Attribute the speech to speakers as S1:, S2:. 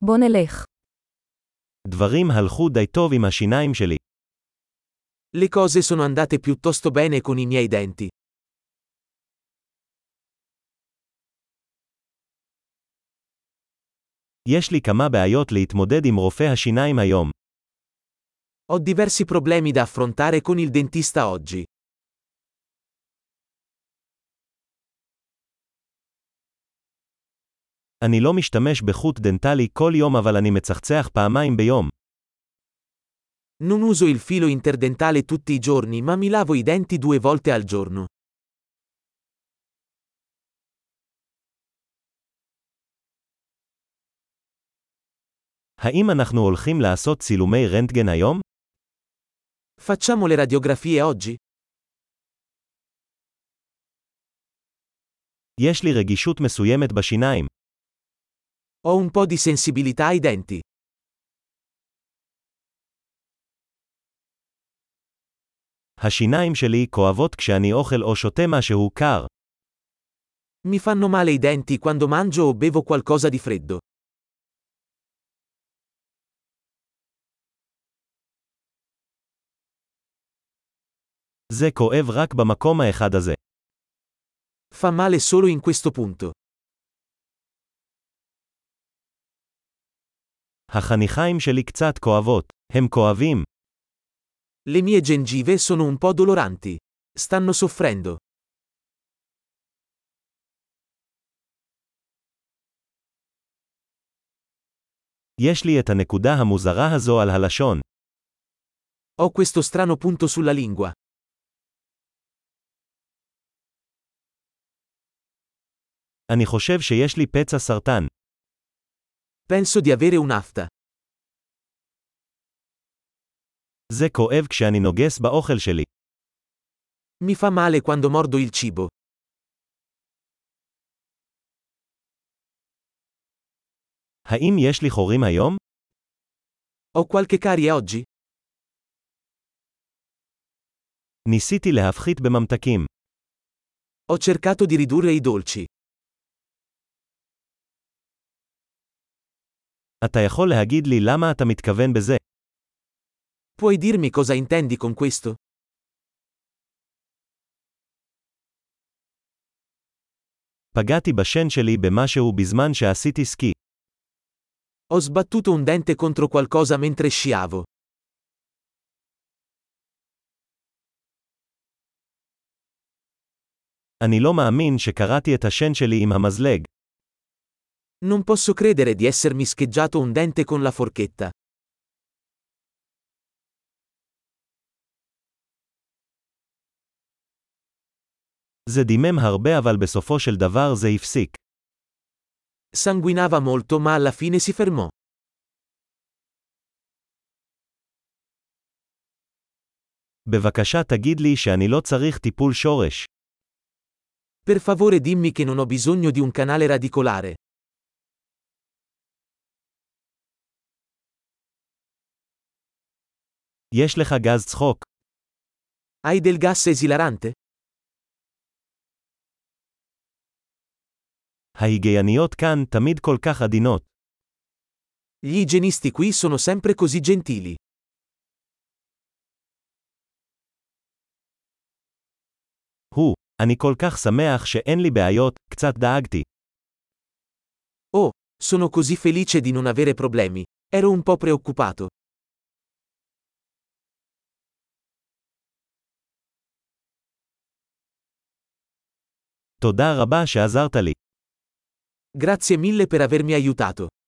S1: בוא נלך.
S2: דברים הלכו די טוב עם השיניים שלי.
S3: Le cose sono andate piuttosto bene con i miei denti.
S2: יש לי כמה בעיות להתמודד עם רופא השיניים היום.
S3: Ho diversi problemi da affrontare con il dentista oggi.
S2: אני לא משתמש בחוט דנטלי כל יום אבל אני מצחצח פעמיים ביום.
S3: Non uso il filo interdentale tutti i giorni, ma mi lavo i denti 2 volte al giorno.
S2: האם אנחנו הולכים לעשות צילומי רנטגן היום?
S3: Facciamo le radiografie oggi?
S2: יש לי רגישות מסוימת בשיניים.
S3: Ho un po' di sensibilità ai denti.
S2: השיניים שלי כואבות כשאני אוכל או שותה משהו קר.
S3: Mi fanno male i denti quando mangio o bevo qualcosa di freddo.
S2: זה כואב רק במקום האחד הזה.
S3: Fa male solo in questo punto.
S2: החניכיים שלי קצת כואבות. הם כואבים.
S3: Le mie gengive sono un po' doloranti. Stanno soffrendo.
S2: יש לי את הנקודה המוזרה הזו על הלשון.
S3: Ho questo strano punto sulla lingua.
S2: אני חושב שיש לי פצע סרטן.
S3: Penso di avere un'afta.
S2: זה כואב כשאני נוגס באוכל שלי.
S3: Mi fa male quando mordo il cibo.
S2: האם יש לי חורים היום?
S3: Ho qualche carie oggi?
S2: ניסיתי להפחית בממתקים.
S3: Ho cercato di ridurre i dolci.
S2: אתה יכול להגיד לי למה אתה מתכוון בזה?
S3: Puoi dirmi cosa intendi con questo?
S2: פגעתי בשן שלי במשהו בזמן שעשיתי סקי.
S3: Ho sbattuto un dente contro qualcosa mentre sciavo.
S2: אני לא מאמין שקראתי את השן שלי עם המזלג.
S3: Non posso credere di essermi scheggiato un dente con la forchetta.
S2: זה דימם הרבה אבל בסופו של דבר זה הפסיק.
S3: Sanguinava molto ma alla fine si fermò.
S2: בבקשה תגיד לי שאני לא צריך טיפול שורש.
S3: Per favore dimmi che non ho bisogno di un canale radicolare.
S2: יש לך גז צחוק.
S3: Hai del gas esilarante?
S2: ההיגייניות כאן תמיד כל כך עדינות.
S3: Gli igienisti qui sono sempre così gentili.
S2: אני כל כך שמח שאין לי בעיות, קצת דאגתי.
S3: Oh, sono così felice di non avere problemi. Ero un po' preoccupato.
S2: תודה רבה שעזרת לי.
S3: Grazie mille per avermi aiutato.